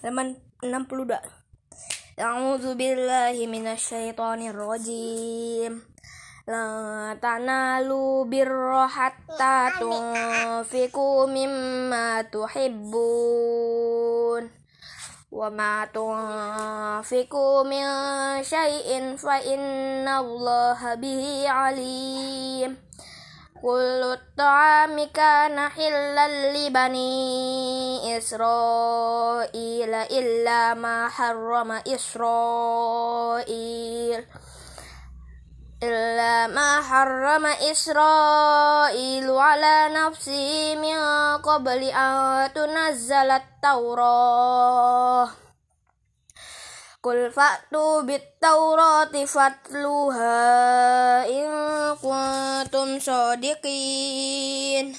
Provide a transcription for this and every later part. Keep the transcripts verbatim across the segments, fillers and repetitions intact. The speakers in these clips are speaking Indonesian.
halaman enam puluh dua. A'udzu billahi minasyaitonir rajim. La tanalu birra hatta tunfiqu mimma tuhibbun wa ma tunfiqu min syai'in fa innallaha bihi alim. Kullu ta'ami kana hillal li bani Israila illa ma harrama Israil illa ma harrama Israilu ala nafsi min qabli an tunazzalat Taurah. Qul fa'tu bit-taurati fatluha in kuntum shadiqin.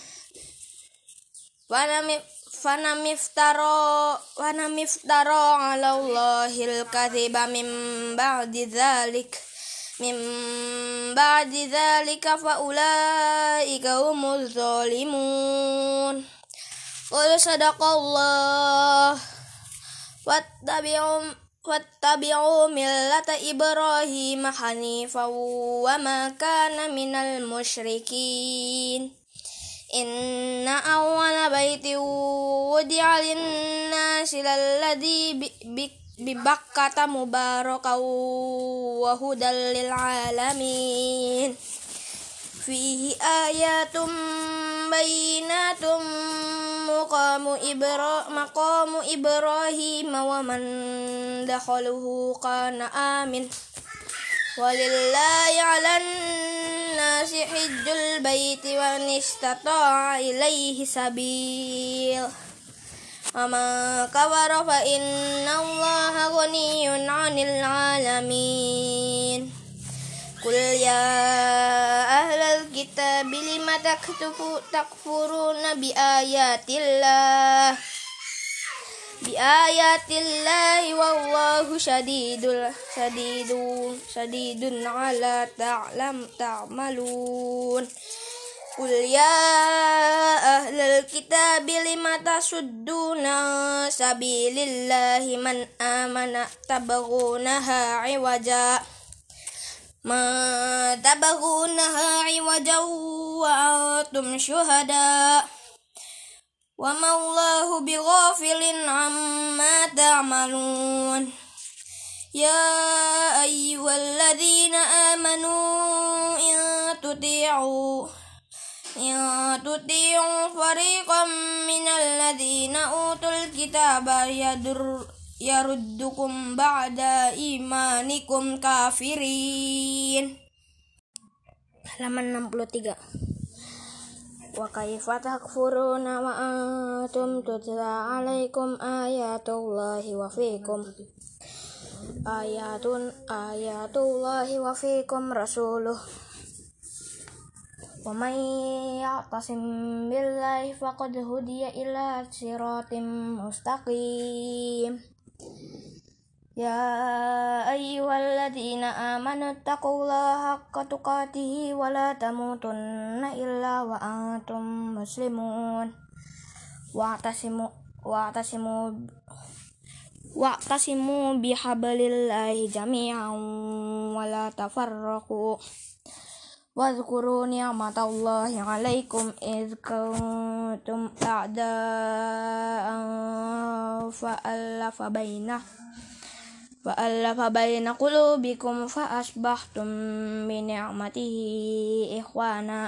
Fanamiftara Fanamiftara 'ala Allahil kadhiba min ba'di dzalik min ba'di dzalika fa ulaika humuz zalimun. Qul sadaqallah wattabi'u Wattabi'u millata Ibrahim hanifan wa ma kana minal musyrikin. Inna awwala baitin wudi'a lin-nasi lalladzi bi Bakkata mubarakan wa hudal lil alamin. Fihi ayatum bayyinatum maqamu Ibra maqamu Ibrahim wa man dakhaluhu kana amin. Walillahi 'alan nasi hajjul baiti wa istata'a ilaihi sabil. Wa man kafara fa innallaha ghaniyyun 'anil 'alamin. Qul ya ahlal kitab lima taktubu takfuruna bi ayatillah bi ayatillahi wallahu syadidul syadidun syadidun ala ta'lam ta'malun. Qul ya ahlal kitab lima tasudduna sabilillahi man amana tabghunaha 'iwaja Ma tabaghunaha 'iwajan wa antum syuhada wa ma Allahu bighafilin 'amma ta'malun. Ya ayyuhalladzina amanu in tuti'u in tuti'u fariqan minal ladzina utul kitaba yadur yaruddukum ba'da imanikum kafirin. Halaman enam puluh tiga. Wa kaifa takfuruna wa antum tutla 'alaikum ayatullahi wa fikum ayatun ayatullahi wa fikum rasuluh. Wa may ya'tasim billahi faqad hudiya ila siratim mustaqim. Ya ayyuhalladzina amanu taqullaha haqqa tuqatih wa la tamutunna illa wa antum muslimun. Wa'tasimu wa'tasimu wa'tasimu bihablillahi jami'an wa la tafarraqu. Wadhkuru ni'matallahi 'alaikum idz kuntum a'da'an fa'alafa bainah fa'alafa baina qulubikum fa asbahtum bi ni'matihi ikhwana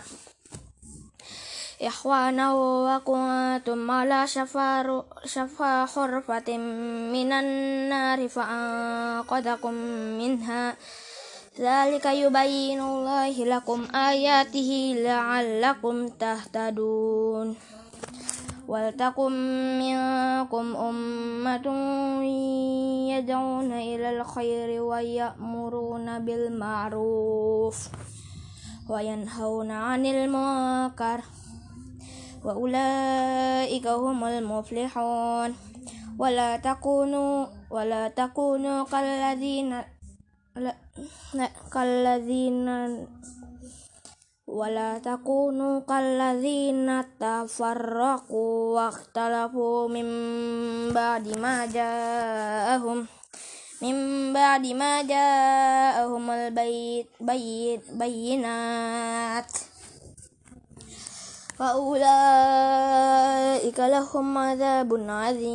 ikhwana wa kuntum ala shafaru shafa khurfatin minan nari fa anqadakum minha. Dzalika yubayyinullahu lakum ayatihi la'allakum tahtadun. Wal takum minkum ummatun yad'una ilal khairi wa ya'muruna bil ma'ruf wa yanhauna 'anil munkar wa ulaika humul muflihun. Wala takunu wala takunu kalladzina kalladzina wala takunu kalladzina tafarraqu wakhtalafu min ba'di ma ja'ahum min ba'di ma ja'ahumul bayt bayt bayyinat wa ulaika lahum adzabun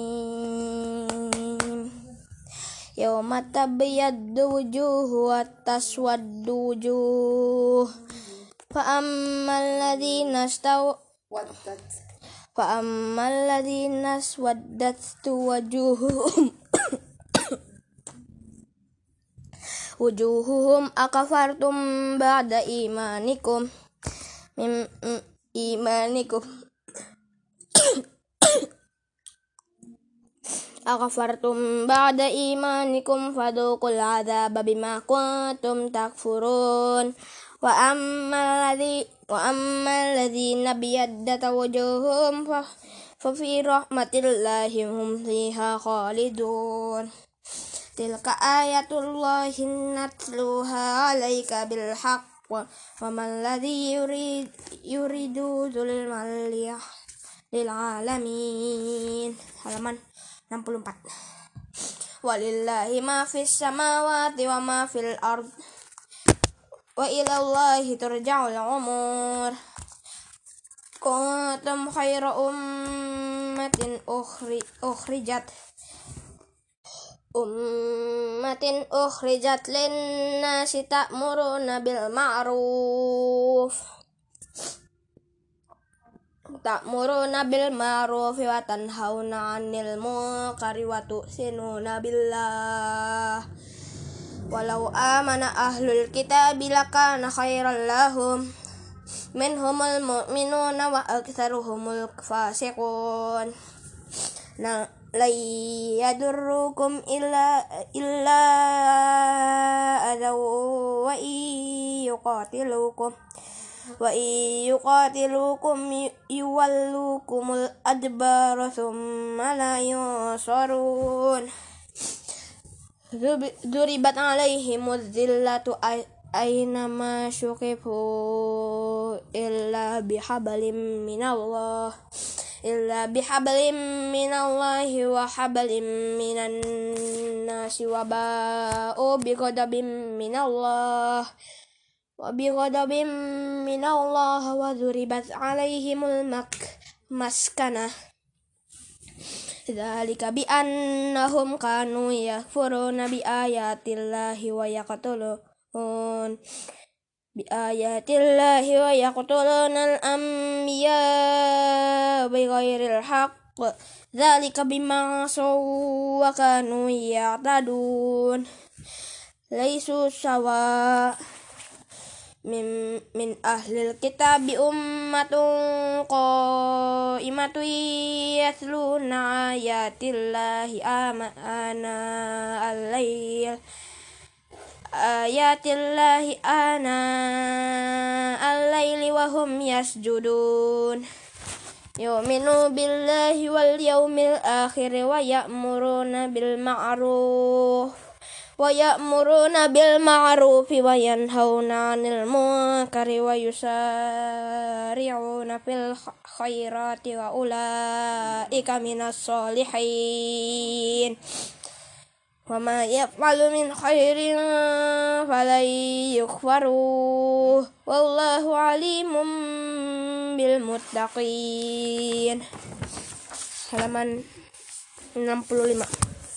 adzim yawma tabyaddu wujuhu wa taswaddu wujuh fa ammal ladzina staw fa ammal ladzina swaddat wujuhuhum wujuhuhum akafartum ba'da imanikum mim imanikum akafartum ba'da imanikum fadhuqul adzaba bima kuntum takfurun wa ammal ladzi wa ammal ladzina biyaddat wujuhum fa fa fi rahmatillahi hum fiha khalidun tilka ayatullahi natluha 'alaika bil haqq wa man ladzi yurid yuridu zulmal lil alamin. Halaman enam puluh empat. Walillahi ma fis samawati wa ma fil ard wa ilallahi turja'ul umur. Kuntum khayra ummatin ukhri ukhrijat ummatin ukhrijat lin-nasi ta'muruna bil ma'ruf ta'muruna bil ma'ruf wa tanhauna 'anil munkari wa tu'minuna billah walau amana ahlul kitabi lakana khairan lahum minhumul mu'minuna wa aktsaruhumul fasiqun na la yadurrukum illa illa adaw wa yuqatilukum wa yuqatilukum yuwallukumul adbara thumma la yunsarun. Duribat alaihimuz zillatu aynama syuqifu illa bihablim minallah illa bihablim minallahi wa hablim minan nasi wa ba'u bighadabin minallah wa bighadabin minallah wa duribat alaihimul mak maskanah dzalika bi annahum kanu yakfuruna bi ayatillahi wa yaqtulun bi ayatillahi wa yaqtuluna al-anbiya bighairil haqq dzalika bima asaw wa kanu ya'tadun laisu sawa min min ahlil kitabi ummatun qa'imatun yatluna ayatillahi ana al-lail ayatillahi ana al-laili wa hum yasjudun yu'minu billahi wal yawmil akhir wa ya'muruna bil ma'ruf wa ya'muruna bil ma'ruf wa yanhauna 'anil munkari wa yusari'una fil khairati wa ulaika minas solihin wa ma yaf'alu min khairin falan yukhfaruh wallahu alimun bil muttaqin. Halaman enam puluh lima.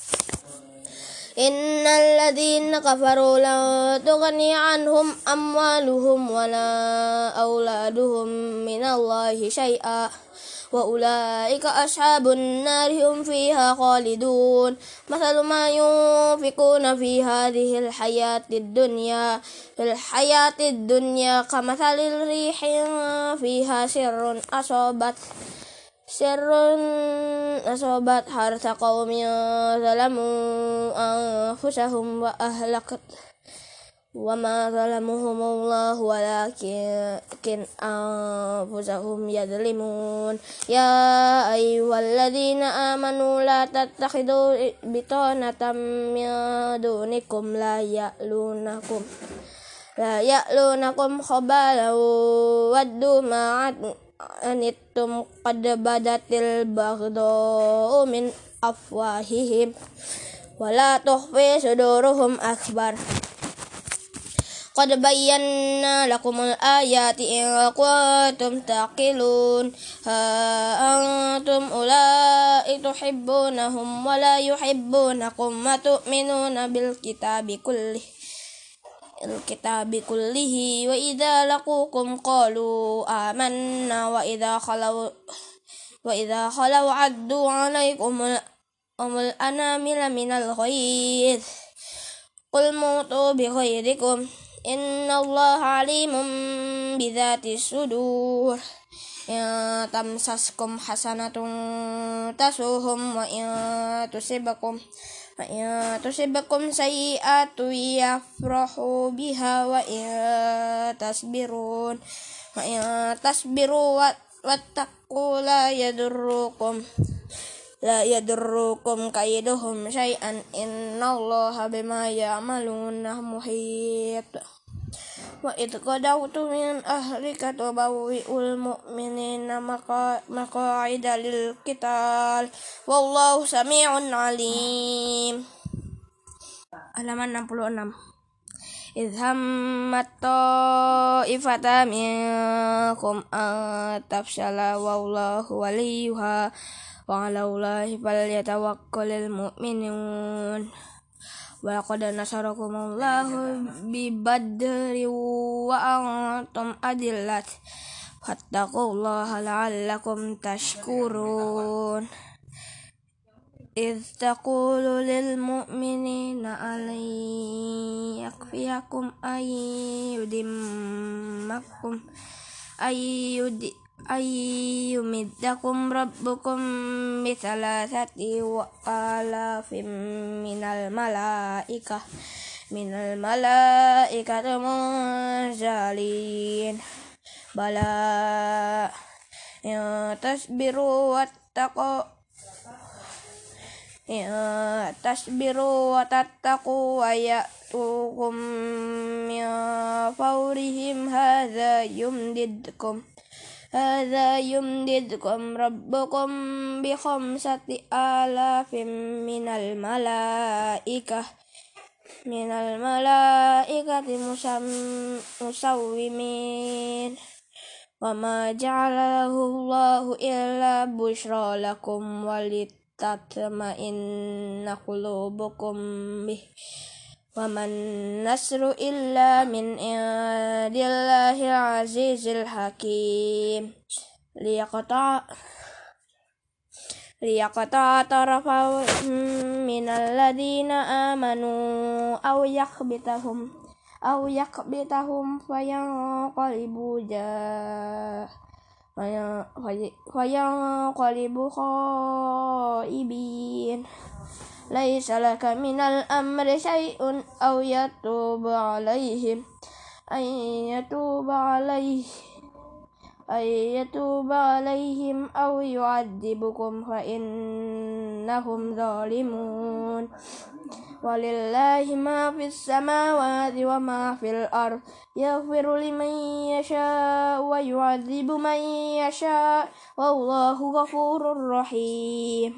Innal ladzina kafaru la tughni anhum amwaluhum wala auladuhum minallahi syai'a wa ulaika ashabun nari hum fiha khalidun. Mathalu ma yunfikuna fi hadhil hayatid dunya fil hayatid dunya kamathalil rihin fiha sirrun asabat sirrun asabat harta qaumin zalamu anfusahum wa ahlakat wa ma zalamuhumullah walakin anfusahum yadlimun. Ya ayyuhalladzina amanu la tattakhidhu bitanatan min dunikum la ya'lunakum لا يألونكم خبالا ودوا ما عنتم قد بدت البغضاء من أفواههم ولا تخفي صدورهم أكبر قد بينا لكم الآيات إن كنتم تعقلون ها أنتم أولئك تحبونهم ولا يحبونكم وتؤمنون بالكتاب كله الكتاب كله وإذا لقوكم قالوا آمنا وإذا خلوا وإذا خلوا عدوا عليكم الأنامل من الغيظ قل موتوا بغيظكم إن الله عليم بذات الصدور إن تمسسكم حسنة تسؤهم وإن تصبكم وإن تصبكم سيئة يفرحوا بها وإن تصبرون وإن تصبروا واتقوا لا يضركم لا يضركم كيدهم شيئا إن الله بما يعملون محيط وإذ غدوت من أهلك تبوئ المؤمنين مقاعد للقتال والله سميع عليم. Halaman enam puluh enam. إذ همت طائفتان منكم أن تفشلا والله وليها وعلى الله فليتوكل المؤمنون ولقد نصركم الله ببدر وأنتم أذلة فاتقوا الله لعلكم تشكرون إذ تقول للمؤمنين ألن يكفيكم أن يدمكم أن يدمكم أن يمدكم ربكم بثلاثة آلاف من الملائكة من الملائكة منزلين بلى إن تصبروا واتقوا إن تصبروا وتتقوا ويأتوكم من فورهم هذا يمددكم هذا يمددكم ربكم بخمسة آلاف من الملائكة من الملائكة مسومين وما جعله الله إلا بشرى لكم ولتطمئن قلوبكم به وما النصر إلا من عند الله العزيز الحكيم ليقطع ليقطع طرفا من الذين آمنوا أو يكبتهم أو يكبتهم فينقلبوا جاء فينقلبوا خائبين ليس لك من الأمر شيء أو يتوب عليهم أن يتوب عليه أن يتوب عليهم أو يعذبكم فإنهم ظالمون ولله ما في السماوات وما في الأرض يغفر لمن يشاء ويعذب من يشاء والله غفور رحيم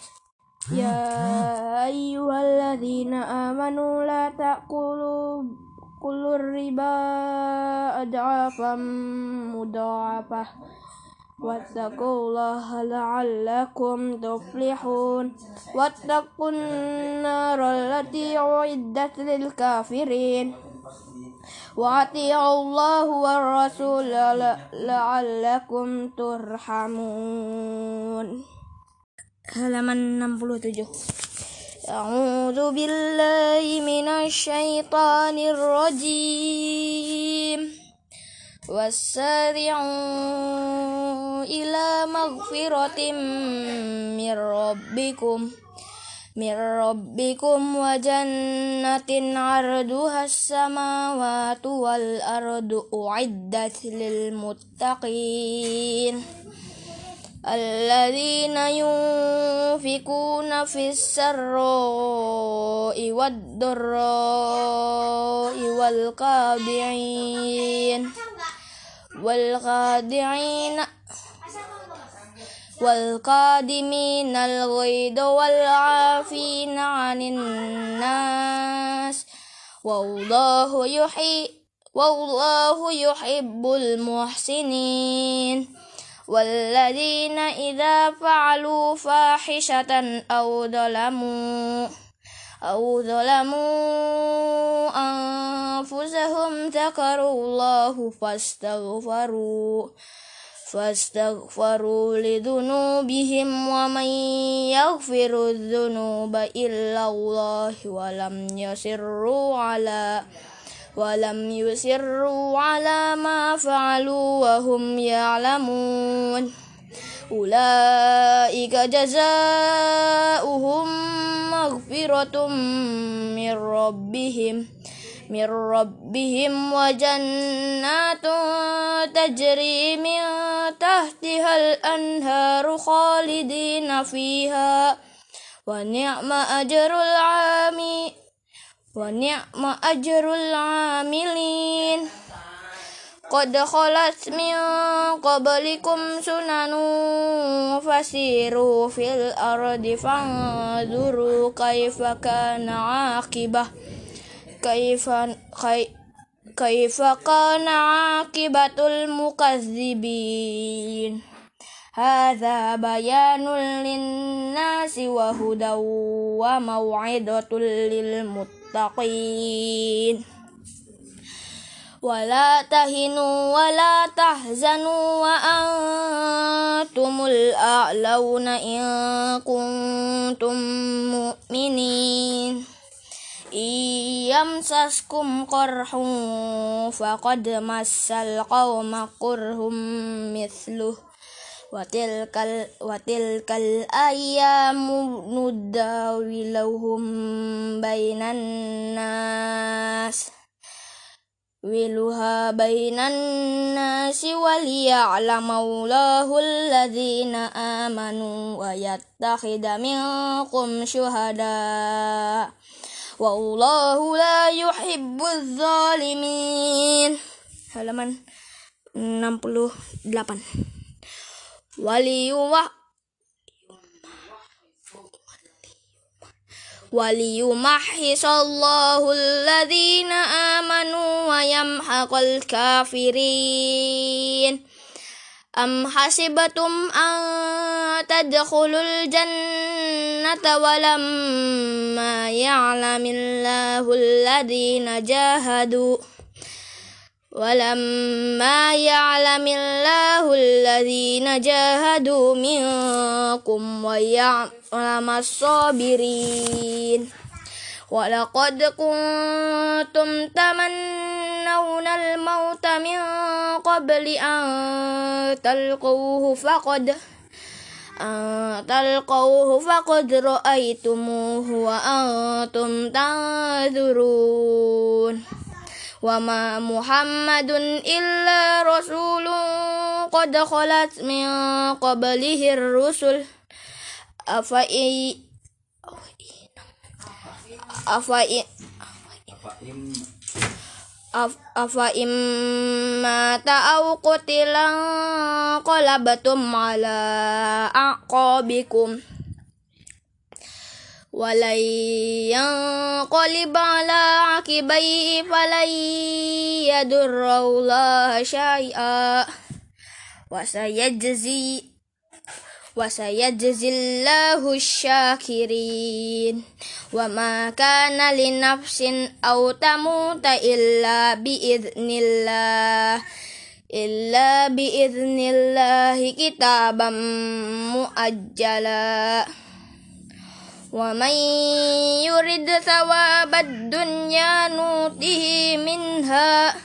يا أيها الذين آمنوا لا تأكلوا كل الربا أضعافا مضاعفة واتقوا الله لعلكم تفلحون واتقوا النار التي أعدت للكافرين وأطيعوا الله والرسول لعلكم ترحمون. Halaman enam puluh tujuh. A'udzu billahi minasyaitonir rajim. Wasari'u ila maghfiratin mir rabbikum mir rabbikum wa jannatin 'arduhas samawati wal ardu u'iddat lil muttaqin. الذين ينفقون في السراء والضراء والخادعين والخادعين والقادمين الغيظ والعافين عن الناس والله يحب والله يحب المحسنين والذين إذا فعلوا فاحشة أو ظلموا أو ظلموا أنفسهم ذكروا الله فاستغفروا فاستغفروا لذنوبهم ومن يغفر الذنوب إلا الله ولم يصروا على ولم يصروا على ما فعلوا وهم يعلمون أولئك جزاؤهم مغفرة من ربهم من ربهم وجنات تجري من تحتها الأنهار خالدين فيها ونعم أجر العاملين ونعم أجر العاملين قد خلت من قبلكم سنن فسيروا في الأرض فانظروا كيف كان عاقبة كيف كيف كان عاقبة المكذبين هذا بيان للناس وهدى وموعظة للمتقين ولا تهنوا ولا تحزنوا وأنتم الأعلون إن كنتم مؤمنين إن يمسسكم قرح فقد مس القوم قرح مثله وتلك, وتلك الأيام نداولهم بين الناس ولها بين الناس وليعلم الله الذين آمنوا ويتخذ منكم شهداء والله لا يحب الظالمين. Halaman enam puluh delapan. Waliyumah waliyumahhisallahu alladhina amanu wa yamhaqal kafirin. Am hasibatum an tadkhulul jannata walamma ya'lamillahu alladhina jahadu walamma ya'lamillahu alladhina jahadu minkum wa ya'lamas sabirin. Walaqad kuntum tamannawna al-mauta min qabli an talqawhu faqad an talqawhu faqad ra'aytumuhu wa antum tanzurun. Wa ma Muhammadun illa rasulun qad khalat min qablihi ar-rusul afa i afa i afa imma ta'aw qutilan qalabatum ala aqabikum walay yanqalib ala aqibai falay yadurrallaha syai'a wa sayajzi wa sayajzillahu syakirin. Wa ma kana li nafsin aw tamuta illa biiznillah illa biiznillahi kitaban muajjala. Wa man yurid thawabad dunya nutihi minha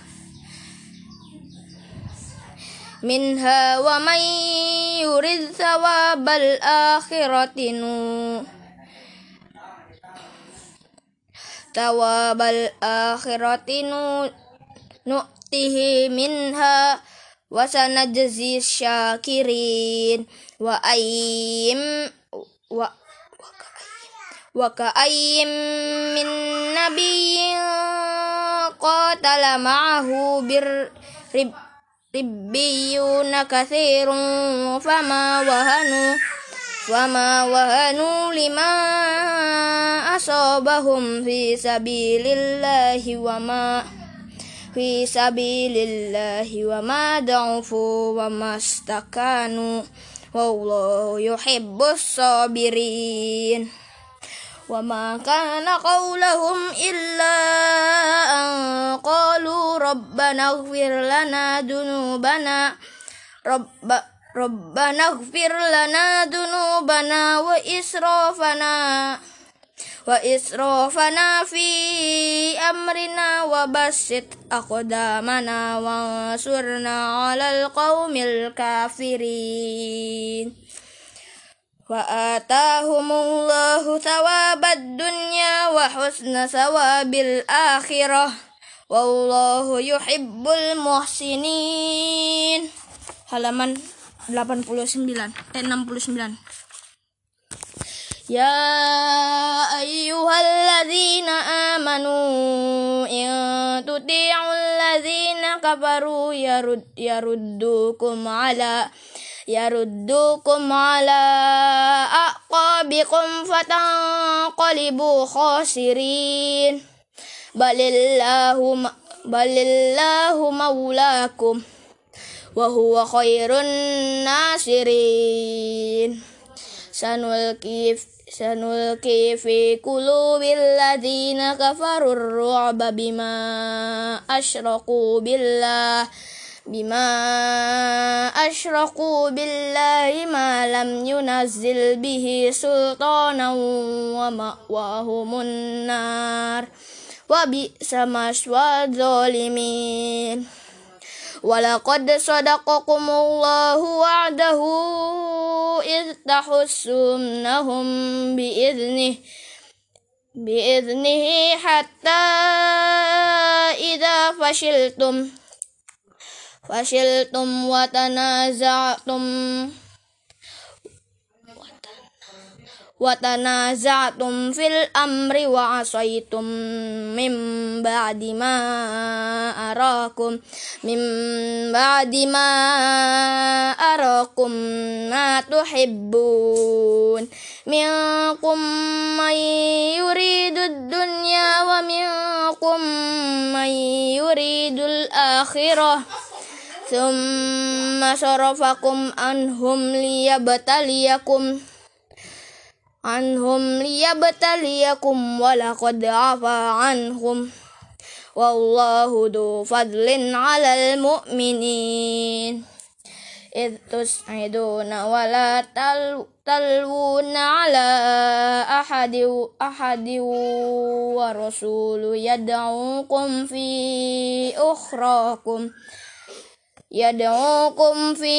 minha wa man yurid thawabal akhirati nu thawabal akhirati nu nu'tihi minha wa sanajzi syakirin wa ayyim wa wa ka'ayyim min nabiyyin qatala ma'ahu bir rib ribbiyuna katsirun fama wahanu wama wahanu lima asabahum fi sabilillahi wama fi sabilillahi wama da'ufu wama istakanu wallahu yuhibbus sabirin. وما كان قولهم إلا أن قالوا ربنا اغفر لنا ذنوبنا رب ربنا اغفر لنا ذنوبنا وإسرافنا وإسرافنا في أمرنا وبسط أقدامنا وانصرنا على القوم الكافرين. Wa atahumullahu thawabad dunya wa husna thawabil akhirah wallahu yuhibbul muhsinin. Halaman delapan puluh sembilan eh enam puluh sembilan. Ya ayyuhalladzina amanu in tuti'ul ladzina kafaru yarud yaruddukum ala yaruddukum ala aqabikum fatanqalibu khasirin. Balillahu balillahu maulakum wa huwa khairun nasirin. Sanulki sanulki fi qulubil ladzina kafarur ru'ba bima asyraku billah bima asyraku billahi ma lam yunazzil bihi sultanan wa ma'wahumun nar wa bi'sa maswal zalimin. Walaqad sadaqakumullahu wa'dahu idh tahussumnahum bi'idhnih bi'idhnihi hatta idza fashiltum fashiltum wa tanaza'tum wa tanaza'tum fil amri wa asaitum min ba'di ma arakum min ba'di ma arakum ma tuhibbun minkum man yuridud dunya wa minkum man yuridul akhirah thumma sarafakum anhum liyabtaliyakum anhum liyabtaliyakum walaqad afa anhum wallahu du fadlin 'alal mu'minin. Idh tus'iduna wa la talwuna 'ala ahadi ahadi wa rasulu yad'ukum fi ukhrakum yad'ukum fi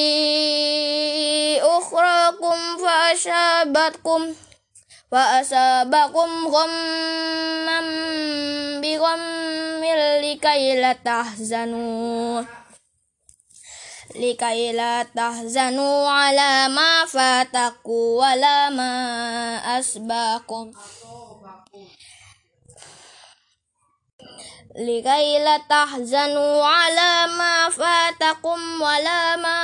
ukhrakum fa ashabatkum wa asabakum ghammam bi ghammil likai la tahzanu likai la tahzanu ala ma fataku wala ma asbakum likai la tahzanu ala ma fatakum wala ma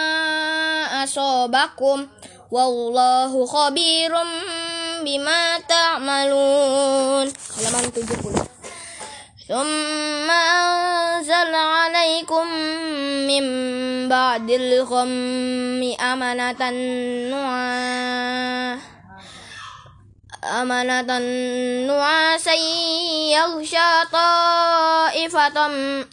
asabakum wallahu khabirum bima ta'malun. Halaman tujuh puluh. Thumma anzala 'alaikum min ba'dil ghammi amanatan nu'a amanatan nu'asan yaghsha ta'ifatan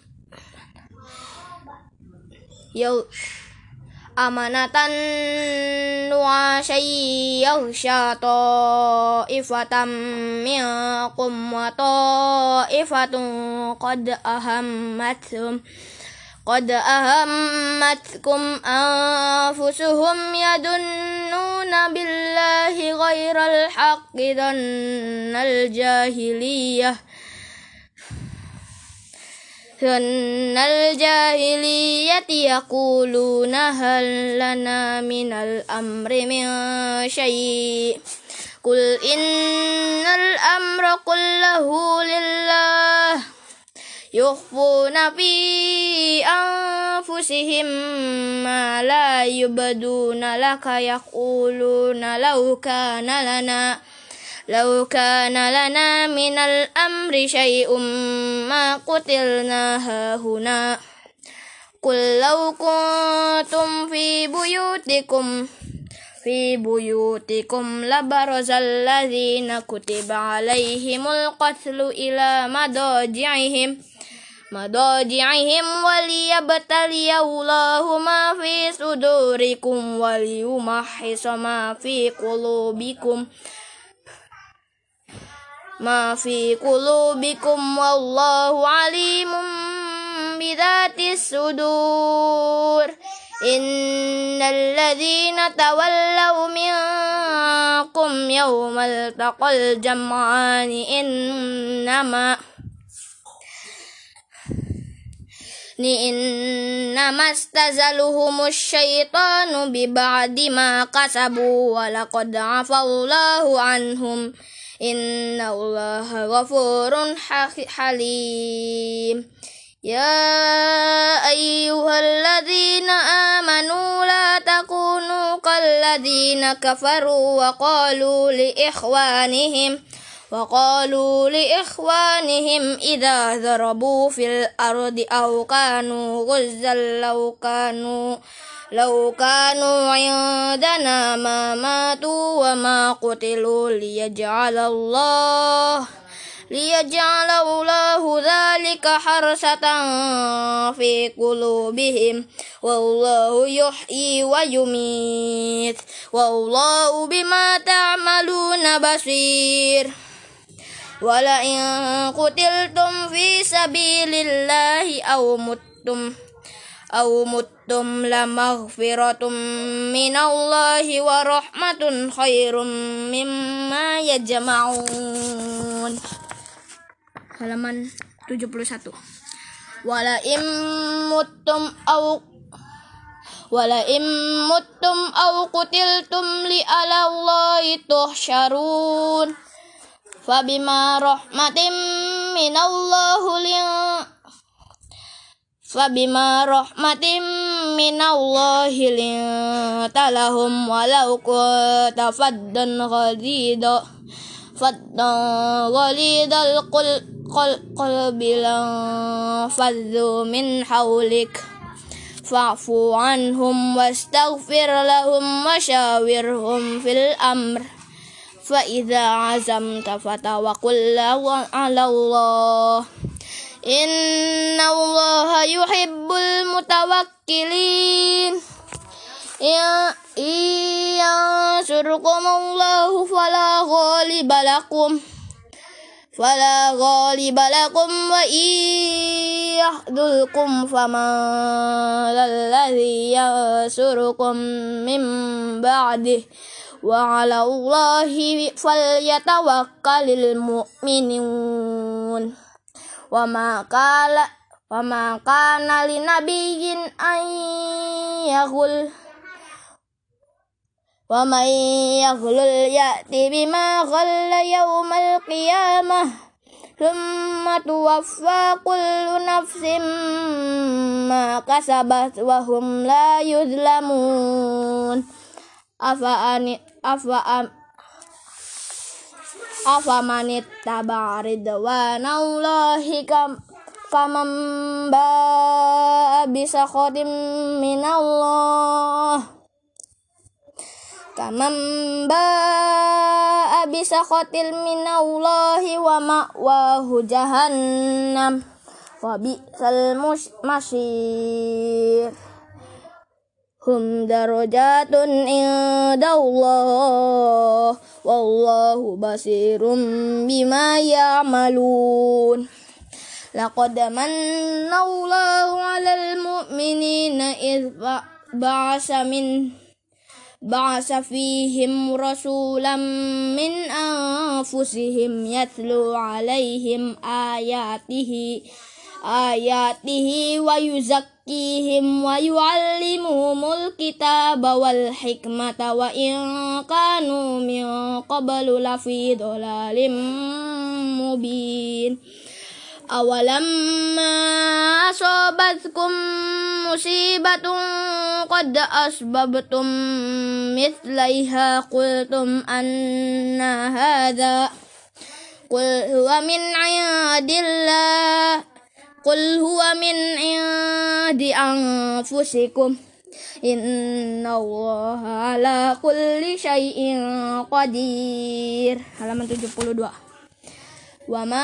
yaw amanatan nu'asan yaghsha ta'ifatan minkum wa ta'ifatun qad ahammathum qad ahammatkum anfusuhum yadunnuna billahi ghairal haqqi dhannal jahiliyah sunnal jahiliyati yaquluna hal lana minal amri min syai' qul innal amra kullahu lillah yukhfuna fi anfusihim ma la yubduna laka yaquluna law kana lana law kana lana minal amri syai'um ma qutilna hahuna qul law kuntum fi buyutikum fi buyutikum labarazal ladzina kutiba alaihimul qatlu ila madaji'ihim madaji'ihim waliyabtaliyallahu ma fi sudurikum waliyumahhisa ma fi qulubikum ma fi qulubikum wallahu alimun bidatis sudur innal ladzina tawallaw minkum yawmal taqal jam'ani innama ni innamastazaluhumus syaitanu bi ba'di ma kasabu wa laqad afallahu anhum innallaha ghafurun halim ya ayyuhalladzina amanu la takunu kalladzina kafaru wa qalu li ikhwanihim وقالوا لإخوانهم إذا ضربوا في الأرض أو كانوا غزا لو كانوا لو كانوا عندنا ما ماتوا وما قتلوا ليجعل الله ليجعل الله ذلك حرسة في قلوبهم والله يحيي ويميت والله بما تعملون بصير ولئن قتلتم في سبيل الله أو متم أو متم لمغفرة من الله ورحمة خير مما يجمعون. Halaman tujuh puluh satu. Walaim muttum au walaim muttum au qutiltum li alallahi tuhsyarun fabima rahmatin minallahu lin fabima rahmatin minallahi lin talahum walau kunta faddan ghalidha faddan ghalidhal qalbi lan faddu min hawlik fa'fu anhum wastaghfir lahum washawirhum fil amr fa idza azamta fatawakkal 'ala Allah inna Allaha yuhibbul mutawakkilin ya yansurkumullahu fala ghaliba lakum fala ghaliba lakum wa yahdulkum faman alladhi yansurukum min ba'dihi wa 'ala Allahi falyatawakkalul mu'minun wa ma qala wa ma kana linabiyyin an yaghul wa man yaghlul ya'ti bima ghalla yawmal qiyamah thumma tuwaffa kullu nafsin ma kasabat wa hum la yuzlamun afa ani afa am afa manit tabaridwanallahi kam kaman ba bisa khotim minallah kaman ba bisa khotil minallahi wa ma'wahu jahannam wa bi'sal masir hum darajatun indallah wallahu basirum bima ya'malun laqad manallahu 'alal mu'minina idh ba'asa min ba'asa fihim rasulam min anfusihim yatlu 'alaihim ayatihi ayatihi wa yuzakkihim wa yu'allimuhumul kitaba wal hikmata wa in kanu min qablu lafi dhalalim mubin. Awalamma asobatkum musibatun qad asbabtum mithlaiha qultum anna hadha qul huwa min indillah qul huwa min indi anfusikum innallaha ala kulli syai'in qadir. Halaman tujuh puluh dua. Wa ma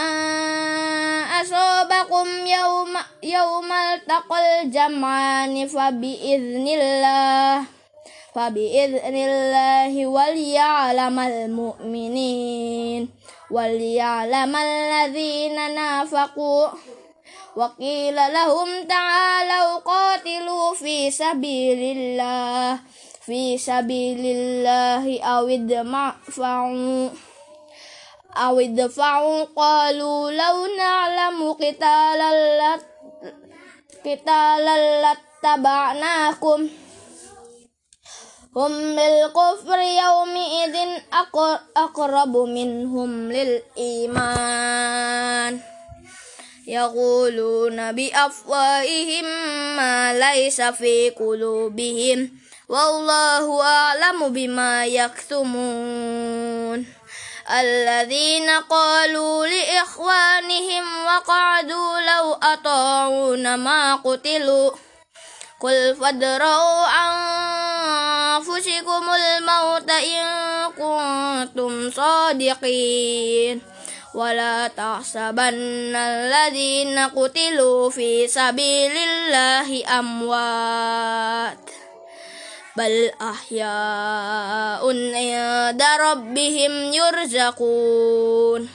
asobakum yawma yawmal taqal jam'ani fa bi idznillah fa bi idznillah wal ya'lamal mu'minin wal ya'lamal ladzina nafaqu wa qila lahum ta'alu qatilu fi sabilillah fi sabilillahi awid ma'fa'u awid fa'u qalu law na'lamu qitalan qitalan lattaba'nakum hum bil kufri yawmi idin aqrabu minhum lil iman yaquluna bi afwahihim ma laysa fi qulubihim wallahu a'lamu bima yaktumun. Alladzina qalu li ikhwanihim wa qa'adu law ata'una ma qutilu qul fadra'u anfusikumul mauta in kuntum sadiqin wala tahsabanna alladzina qutilu fi sabilillahi amwat bal ahya'un 'inda rabbihim yurzaqun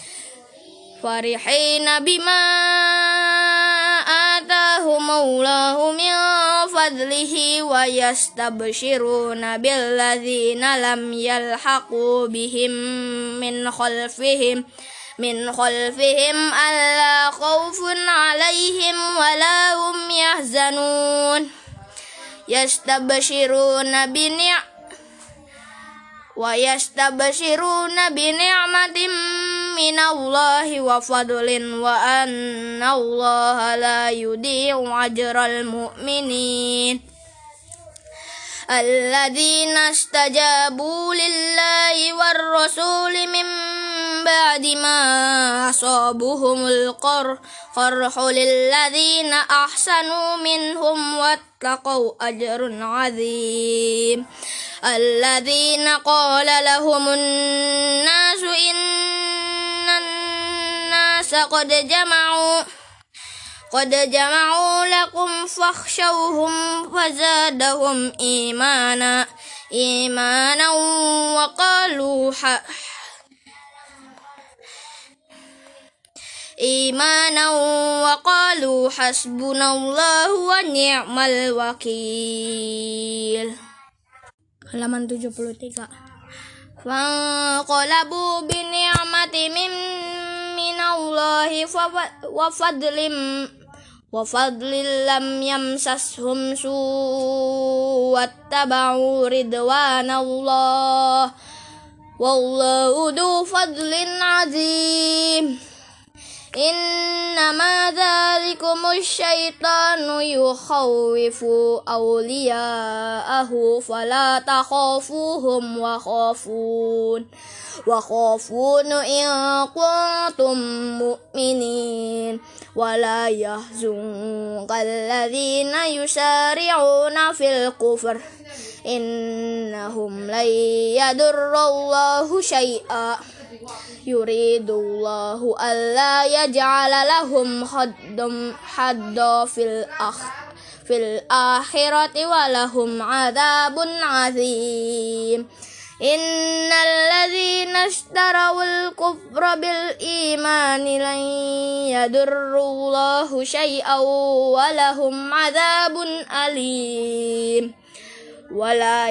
farihina bima atahumullahu min fadlihi wa yastabshiruna billadzina lam yalhaqu bihim min khalfihim min khalfihim alla khawfun 'alaihim wala hum yahzanun yastabshiruna bi ni' wa yastabshiruna bi ni'matin minallahi wa fadlin wa anna allaha la yudhi'u ajral mu'minin alladzina istajabu lillahi war rasuli min ba'di ma asabuhumul qarhu lilladzina ahsanu minhum wattaqau ajrun 'adzim alladzina qala lahumun nasu innan nasa qad jama'u qad jama'u lakum fakhshawhum fazadahum imana imanan wa qalu imanan wa qalu hasbunallahu wa ni'mal wakil. Halaman tujuh puluh tiga. Fanqalabu bi ni'matin minallahi wa fadlim wa fadlin lam yamsashum su' wattaba'u ridwanallah wallahu du fadlin 'azim. Innama dzalikumus syaitanu yukhawwifu awliya'ahu fala takhafuhum wa khafun wa khafun in kuntum mu'minin wala yahzunka alladzina yusari'una fil kufr innahum lan yadurrallahu syai'a yuridullahu alla yaj'ala lahum haddam hadda fil akh fil akhirati walahum adzabun azim. Innal ladzina ishtarawul kufra bil imani lan yadurrullahu syai'an walahum adzabun alim. Wala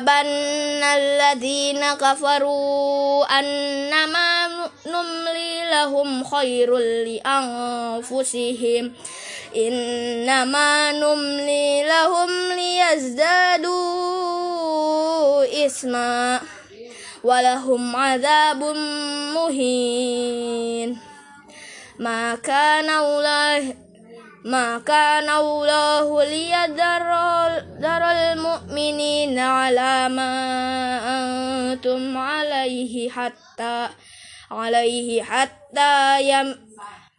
yahsabanna alladzina kafaru annama numli لهم خير لأنفسهم إنما نملي لهم ليزدادوا إثما ولهم عذاب مهين ما كان الله ما كان الله ليذر المؤمنين على ما أنتم عليه حتى عليه حتى يم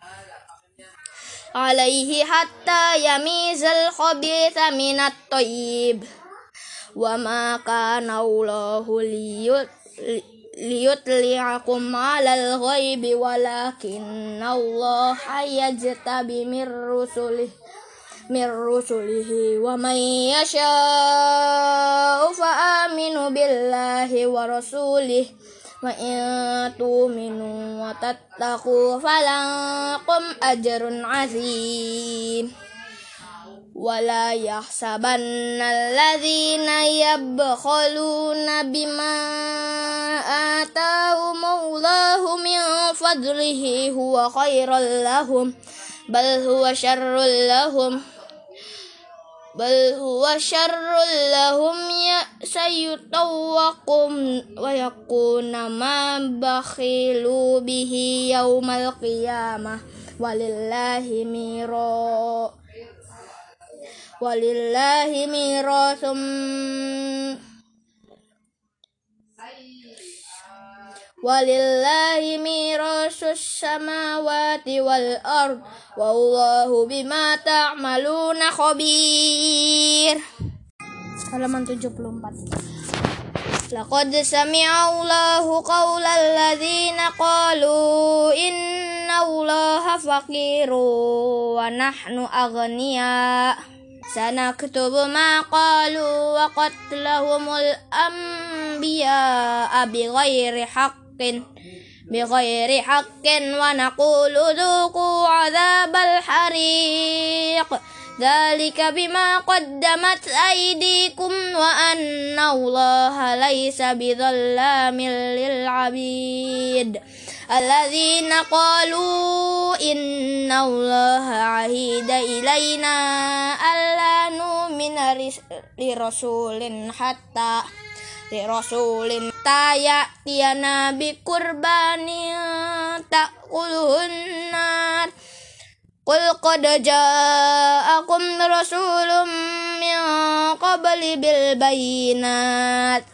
عليه حتى يميز الخبيث من الطيب وما كان الله ليطلعكم على الغيب ولكن الله يجتبي من رسله من رسله ومن يشاء فآمنوا بالله ورسوله وإن تؤمنوا وتتقوا فلكم أجر عظيم ولا يحسبن الذين يبخلون بما آتاهم الله من فضله هو خير لهم بل هو شر لهم بل هو شر لهم سيطوقون ويكون ما بخلوا به يوم القيامة ولله ميراث ولله ميراث ولله ميراث السماوات والأرض والله بما تعملون خبير. Halaman tujuh puluh empat. Laqad sami'a Allahu qawla alladhina qalu inna Allaha faqirun wa nahnu aghniya sanaktubu ma qalu wa qatlahumul anbiya'a bighairi haqqin bighairi haqqin wa naqulu dhuqu 'adzabal hariq dzalika bima qaddamat aydikum wa anna Allaha laysa bidzallamin lil 'abid alladzina qalu inna Allaha 'ahida ilaina alla nu'mina li rasulin hatta li rasulin ta'yana bi qurbanin ta'kuluhun nar qul qad ja'akum rasulun min qabli bil bayyinat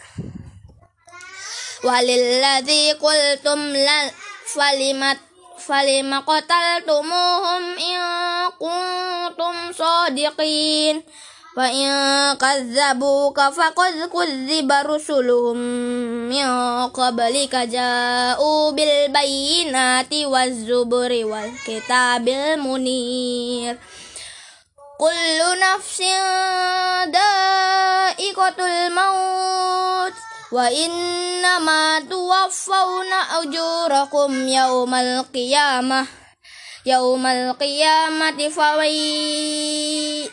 walilladzi qultum la falimat falima qataltumuhum in kuntum shadiqin wa in kazzabuka faqad kuzziba rusuluhum min qablika ja'u bil bayyinati waz zuburi wal kitabil munir kullu nafsin da'iqatul maut wa innama tuwaffawna ujurakum yaumal qiyamah yaumal qiyamati fawai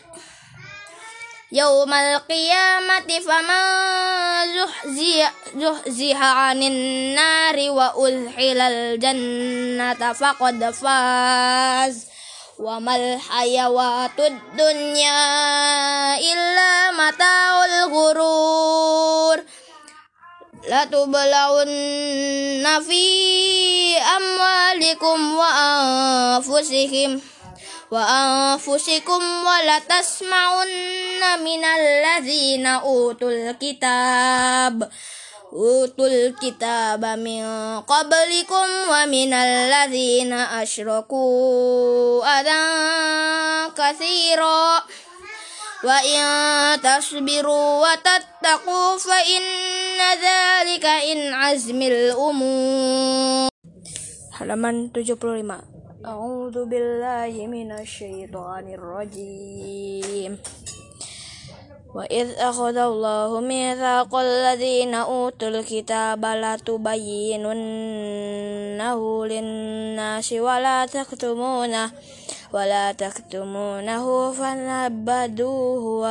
yaumal qiyamati faman zuhziha zuhziha 'anil nari wa udkhilal jannata faqad faz wa mal hayawatud dunya illa mataul ghurur la tublawunna fi amwalikum wa anfusikum wa anfusikum wa la tasma'unna minal ladzina utul kitab utul kitaba min qablikum wa minal ladzina asyraku adan katsira wa in tasbiru wa tattaqu fa inna dzalika in azmil umur. Halaman tujuh puluh lima. A'udzu billahi minasyaitonir rajim. Wa idz akhadallahu mitsaqal ladzina utul kitaba la tubayyinunnahu lin-nasi wa la taktumunahu wa la taktumunahu fanabbaduhu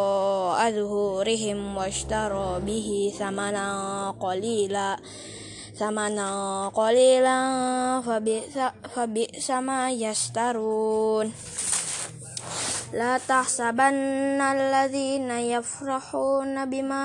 wara'a zuhurihim washtaraw bihi thamanan qalila ثمنا قليلا فبئس فبئس ما يشترون لا تحسبن الذين يفرحون بما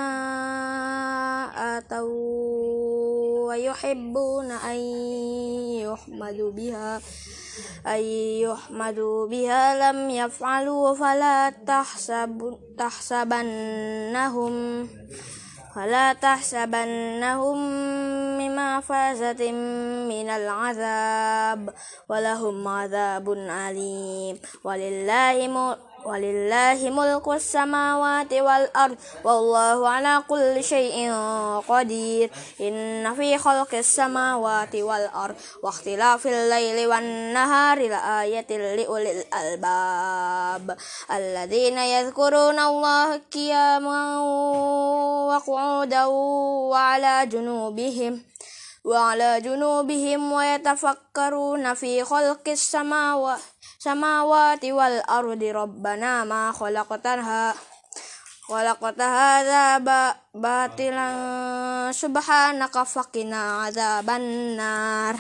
آتوا ويحبون أن يحمدوا بها أن يحمدوا بها لم يفعلوا فلا تحسب تحسبنهم فلا تحسبنهم بمفازة من العذاب ولهم عذاب أليم ولله م... ولله ملك السماوات والأرض والله على كل شيء قدير إن في خلق السماوات والأرض واختلاف الليل والنهار لآية لأولي الألباب الذين يذكرون الله قياما وقعودا وعلى جنوبهم وعلى جنوبهم ويتفكرون في خلق السماوات السماوات والأرض ربنا ما خلقتها خلقت هذا باطلا سبحانك فقنا عذاب النار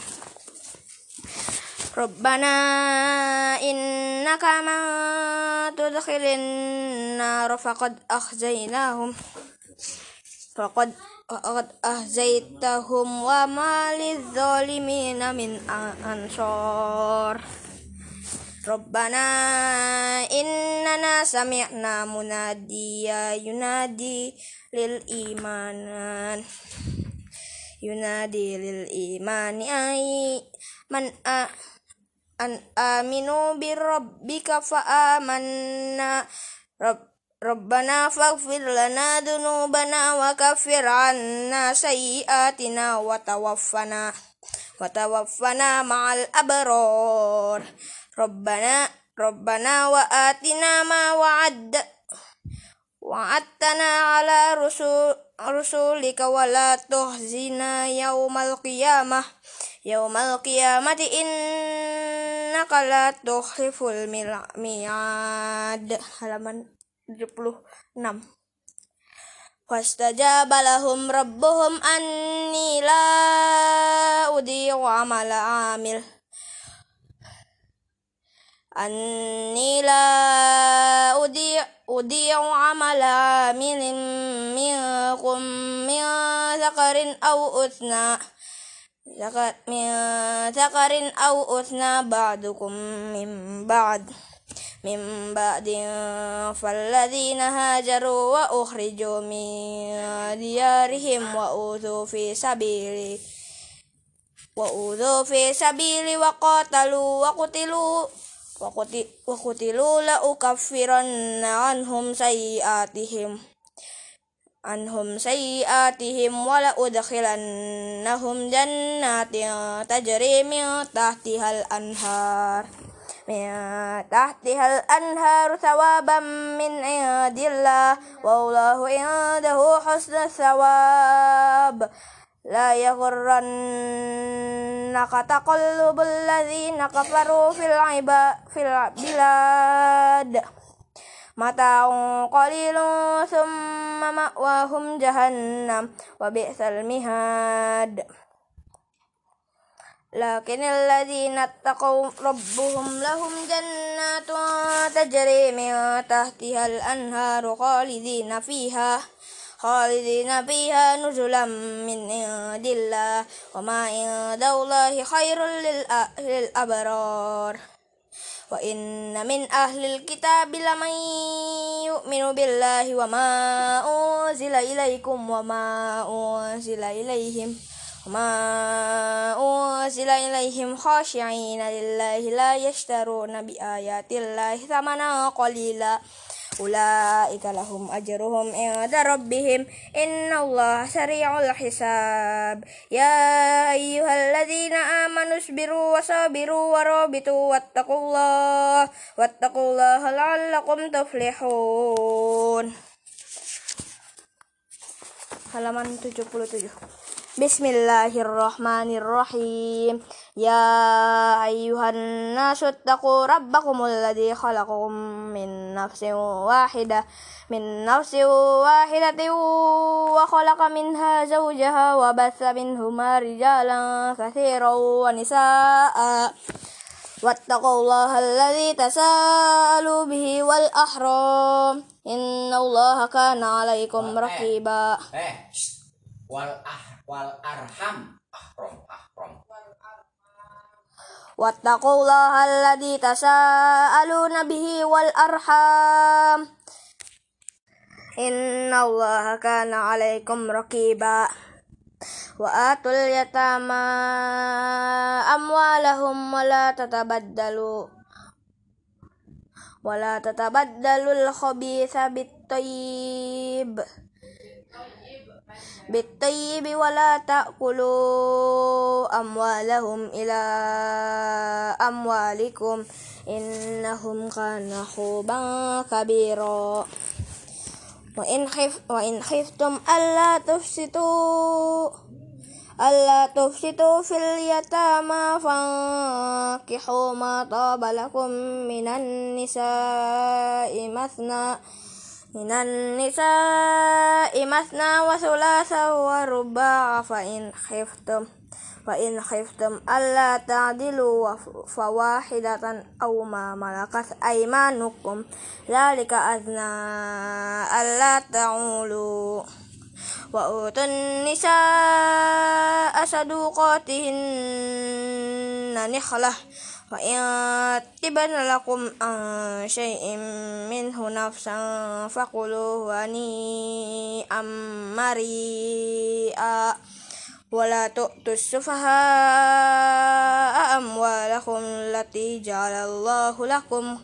ربنا إنك من تدخل النار فقد أخزيناهم فقد قد أهزيتهم وما للظالمين من أنصار ربنا إننا سمعنا مناديا ينادي للإيمان ينادي للإيمان أي من أن آمنوا بربك فآمنا رب ربنا فاغفر لنا ذنوبنا وكفر عنا سيئاتنا وتوفنا وتوفنا مع الأبرار ربنا ربنا وآتنا ما وعد وعدتنا على رسول رسولك ولا تخزنا يوم القيامة يوم القيامة إنك لا تخلف الميعاد halaman tujuh puluh enam Fastajaba lahum rabbuhum anni la udhi'u amala amil anni la udhi'u amala amilin minkum min zakarin aw uthna zakat min zakarin aw uthna ba'dukum min ba'd min ba'din falladzina hajaru wa ukhriju min diyarihim wa udhu fi sabili wa udhu fi sabili wa qatalu wa qutilu wa qutilu la ukaffiranna anhum sayiatihim anhum sayiatihim wa la udkhilannahum jannatin tajri min tahtihal anhar min tahtihal anhar thawaban min indillah wallahu indahu husnul thawab la yaghurrannaka taqallubul ladzina kafaru fil iba fil bilad mata'un qalilun thumma ma'wahum jahannam wa bi'sal mihad lakinil ladzina taqaw rabbuhum lahum jannatun tajri min tahtihal anharu khalidina fiha khalidina fiha nuzulan min indillah wa ma indallahi khairul lil abrar wa inna min ahlil kitabi laman yu'minu billahi wa ma unzila ilaikum wa ma unzila ilaihim وما أنزل إليهم خاشعين لله لا يشترون بآيات الله ثمنا قليلا أولئك لهم أجرهم عند ربهم إن الله سريع الحساب يا أيها الذين آمنوا اصبروا وصابروا ورابطوا واتقوا الله واتقوا الله لعلكم تفلحون halaman tujuh puluh tujuh Bismillahirrahmanirrahim. Ya ayyuhan nasu taqu rabbakumul ladzi khalaqakum min nafsin wahidah min nafsin wahidatin wa khalaqa minha zawjaha wa batha minhuma rijalan katsiran wa nisaa'a wattaqullaha alladzi tasaalu bihi wal ahram innallaha kana 'alaikum raqiba. Eh, wal ah wal arham ahram ahram wattaqullaha alladzi tasaaluna bihi wal arham innallaha kana 'alaikum raqiba. Wa atul yatama amwalahum wa la tatabaddalu wa la tatabaddalul khabitha bit tayyib bit-tayyibi wa la ta'kulu amwalahum ila amwalikum innahum kana khuban kabira. Wa in khif wa in khiftum alla tufsitu alla tufsitu fil yatama fankihu ma taba lakum minan nisa'i mathna Minan nisa'i masna wa thulatha wa ruba'a fa in khiftum fa in khiftum alla ta'dilu fawahidatan aw ma malakat aymanukum dzalika adna alla ta'ulu wa utun nisa'a saduqatihinna nikhlah wa in tibana lakum an syai'in minhu nafsan faquluhu hani'an mari'a wa la tu'tus sufaha'a amwalakum allati ja'alallahu lakum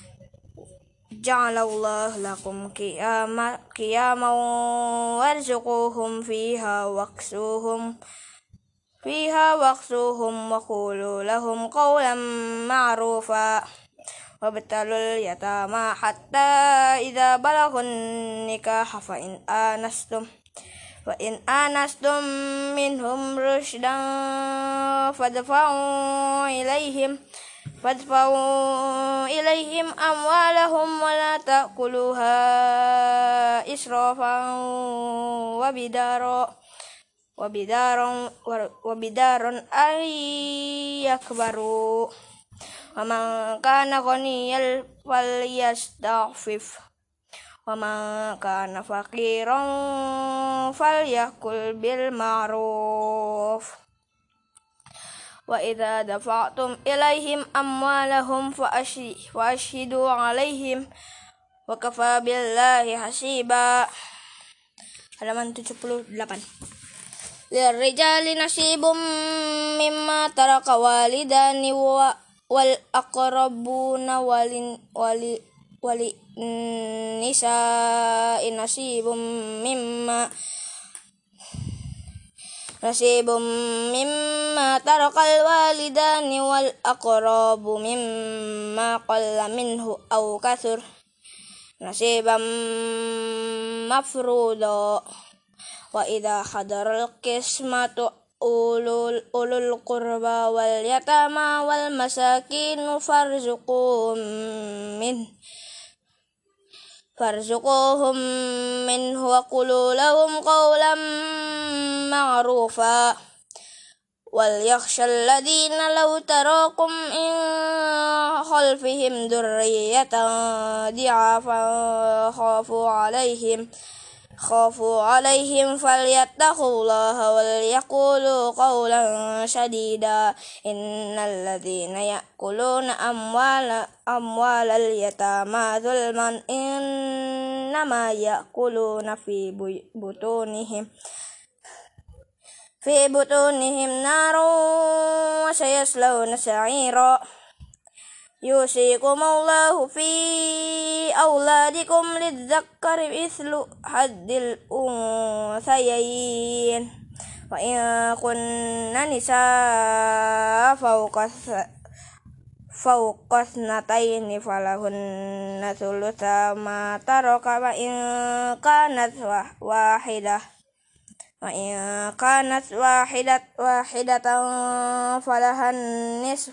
ja'alallahu lakum qiyama qiyaman warzuquhum fiha waqsuhum fiha waqsuhum wa qulu lahum qawlan ma'rufa wabtalul yatama hatta idza balagun nikaha fa in anastum fa in anastum minhum rushdan fadfa'u ilaihim fadfa'u ilaihim amwalahum wa la ta'kuluha israfan wa bidara wabidaron wabidaron ayyakbaru wa man kana ghaniyal falyastaghfif wa man kana faqiran falyakul bil ma'ruf wa idza dafa'tum ilaihim amwalahum fa ashhidu alaihim wa kafa billahi hasiba. Halaman tujuh puluh delapan. Lirrijali nasibum mimma taraka walidani wa wal aqrabuna walin wali wali nisa'i nasibum mimma nasibum mimma tarakal walidani wal aqrabu mimma qalla minhu aw kathur nasibam mafruda. Wa idza hadaral qismatu ulul ulul qurba wal yatama wal masakin farzuquhum min farzuquhum minhu wa qulu lahum qawlan ma'rufa wal yakhshal ladina law tarakum in khalfihim dhurriyatan di'afan khafu alaihim khafu alaihim falyattaqullaha wal yaqulu qawlan sadida innal ladzina ya'kuluna amwala amwalal yatama zulman innama ya'kuluna fi butunihim fi butunihim narun wa sayaslawna sa'ira. Yusikumullahu fi auladikum lidzakkari mithlu haddil unthayayn wa in kunna nisaa fawqa fawqa thnataini falahunna thulutha ma taraka wa in kanat wahidah wa in kanat wahidat wahidatan falahan nisf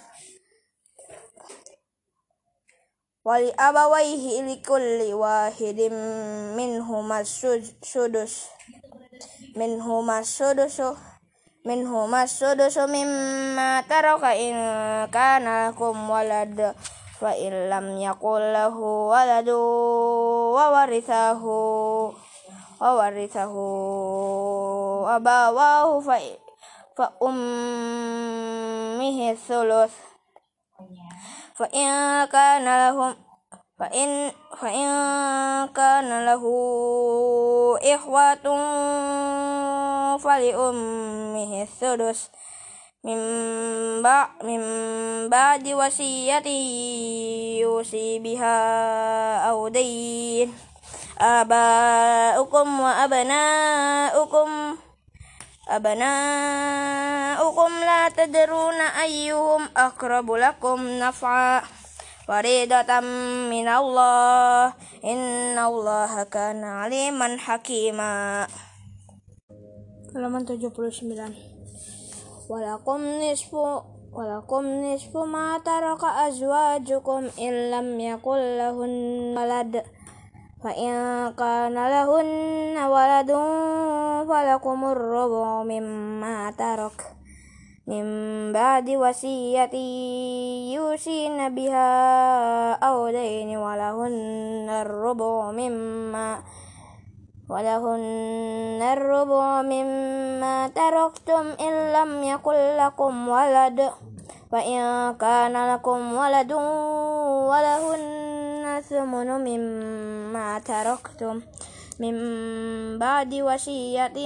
wali abawaihi likulli wahidin minhumas sudus minhumas sudusu minhumas sudusu mimma taraka in kana lakum walad fa in lam yakul lahu waladu wa warithahu wa warithahu abawahu fa fa ummihi thuluth fa in kana lahum fa in fa in kana lahu ikhwatun fali ummihi thuluth mimba mimba di wasiyati yusi biha audain abaukum wa abnaukum abnaukum la tadruna ayyuhum aqrabu lakum naf'a faridatan minallah innallaha kana aliman hakima. Halaman tujuh puluh sembilan. Walakum nisfu walakum nisfu ma taraka azwajukum in lam yakul lahun walad fa in kana lahun waladun falakumur rubu mimma tarak min ba'di wasiyati yusina biha aw daini walahun ar-rubu mimma ولهن الربع مما تركتم إن لم يكن لكم ولد فإن كان لكم ولد ولهن الثمن مما تركتم من بعد وصية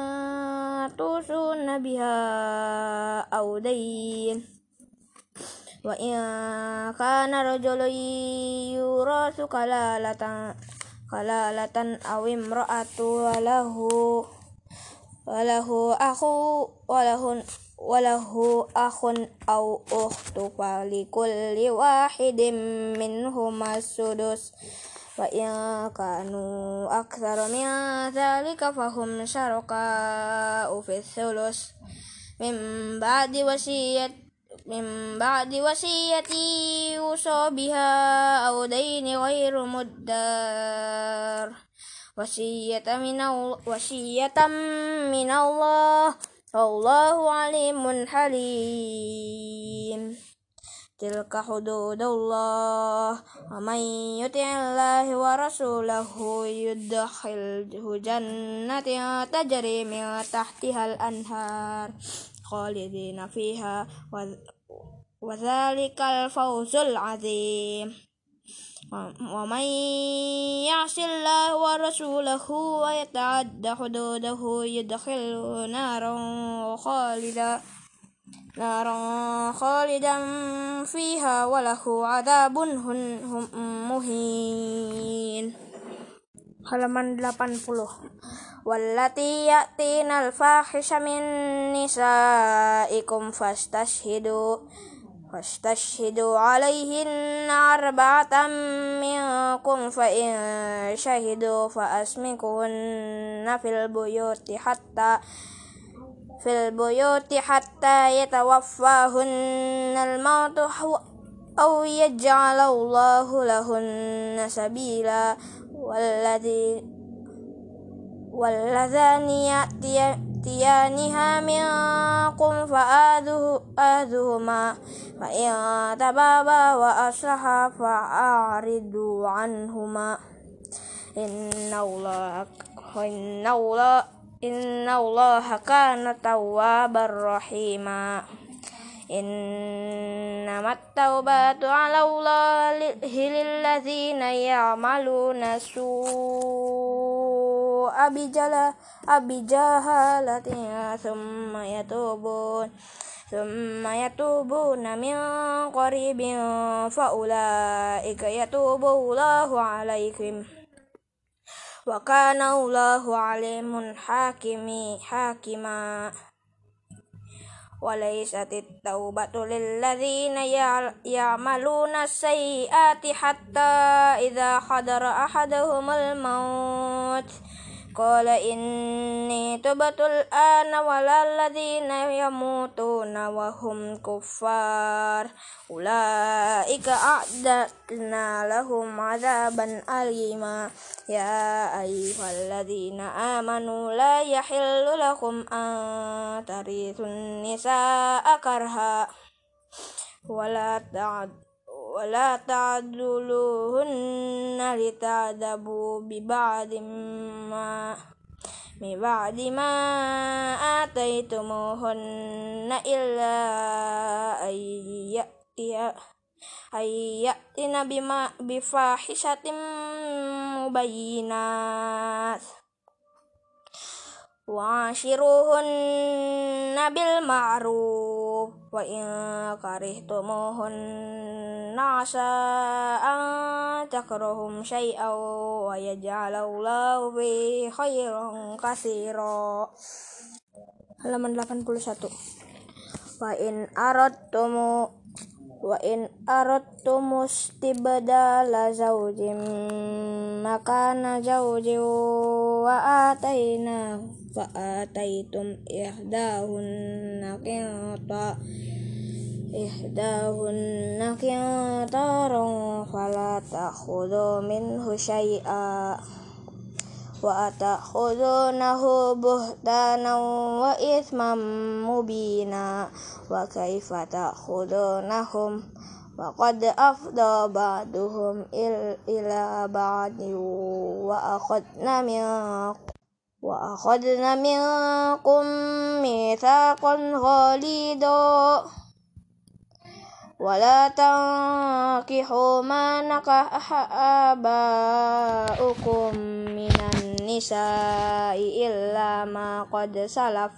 توصون بها أو دين وإن كان رجل يورث كلالة kalalatan awim ra'atu walahu walahu akhu walahun walahu akhun aw ukhtu falikulli wahidin minhuma sudus wa in kanu aktsara min dzalika fahum syaraka fi thuluth min ba'di wasiyat min ba'di wasiyati yusa biha aw daini ghairu muddar wasiyatan minallah wasiyatan minallah wallahu alimun halim. Tilka hududullah wa man yuti'illahi wa rasulahu yudkhilhu jannatin tajri min tahtihal anhar khalidina fiha wa Wadzalikal fawzul azim. Wa man ya'sillaha wa rasulahu wa yata'adda hududahu yudkhilhu naran khalida naran khalidan fiha wa lahu 'adzabun muhin. Halaman delapan puluh. Wallati ya'tinal fahisha min nisaikum fastashhidu Fastashhidu alaihinna arba'atan minkum fa in syahidu fa asmikuhunna fil buyuti hatta fil buyuti hatta yatawaffahunna al-mautu aw yaj'alallahu lahunna sabila walladhi walladzani ya'tiyaniha minkum fa'adhuhuma fa in tababa wa aslaha fa'aridu anhuma innallaha innallaha innallaha kana tawwabar rahima. Innamat taubatu 'ala Allahi lilladzina ya'maluna su'a bijala abijahalatin thumma yatubun thumma yatubuna min qaribin fa ulaika yatubu Allahu 'alaihim wa kana Allahu 'alimun hakimi hakima. Walaisatit taubatu lilladzina ya'maluna sayyi'ati hatta idza hadara ahaduhumul maut قال إني تبت الآن ولا الذين يموتون وهم كفار أولئك أعتدنا لهم عذابا أليما يا أيها الذين آمنوا لا يحل لكم أن ترثوا النساء كرها ولا تعد ولا تعدلوهن لتعذبوا ببعض ما ببعض ما آتيتموهن إلا أن يأتي أن يأتين بما بفاحشة مبينات وعاشروهن بالمعروف وإن كرهتموهن عسى أن تكرهوا شيئا ويجعل الله فيه خيرا كثيرا. Halaman delapan puluh satu. Wa in aradtumu wa in aradtum istibdala zawjin makana zawjin wa atayna fa ataytum ihdahunna qinta ihdahunna qintaran fala ta'khudhu minhu syai'a wa ta'khudhunahu buhtanan wa ithman mubina wa kaifa ta'khudhunahum wa qad afda ba'duhum ila ba'di wa akhadna minkum wa akhadna minkum mitsaqan ghalidha wala tankihu ma nakaha aba'ukum minan nisa'i illa ma qad salaf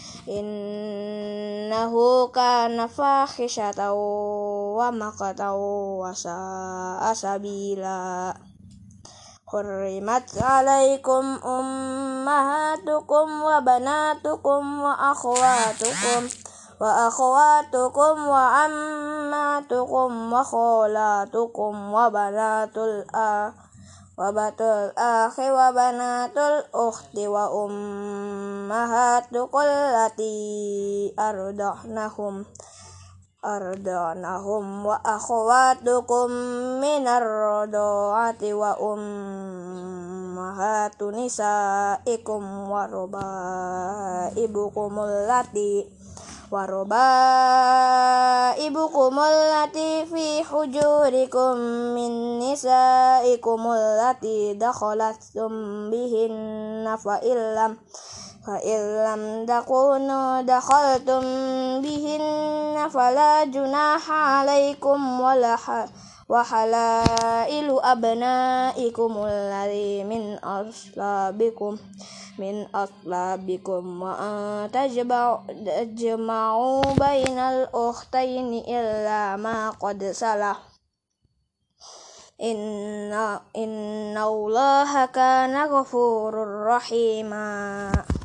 innahu kana fahishatan wa maqtan wa sa'a sabila. Hurrimat alaikum ummahatukum wa banatukum wa akhwatukum wa akhwatukum wa ammatukum wa khalatukum wa banatul a wa batul akhi wa banatul ukhti wa ummahatukum allati ardahnahum ardanahum wa akhwatukum minar rada'ati wa ummahatu nisaikum wa rubaibukum allati wa rubaibukum allati fi hujurikum min nisaikum allati dakhalatum bihinna fa illam fa illam takunu dakhaltum bihinna fala junaha alaikum wala wa halailu abnaikum alladhi min aslabikum min aslabikum wa tajma'u bainal ukhtaini illa ma qad salah inna inna allaha kana ghafurur rahima.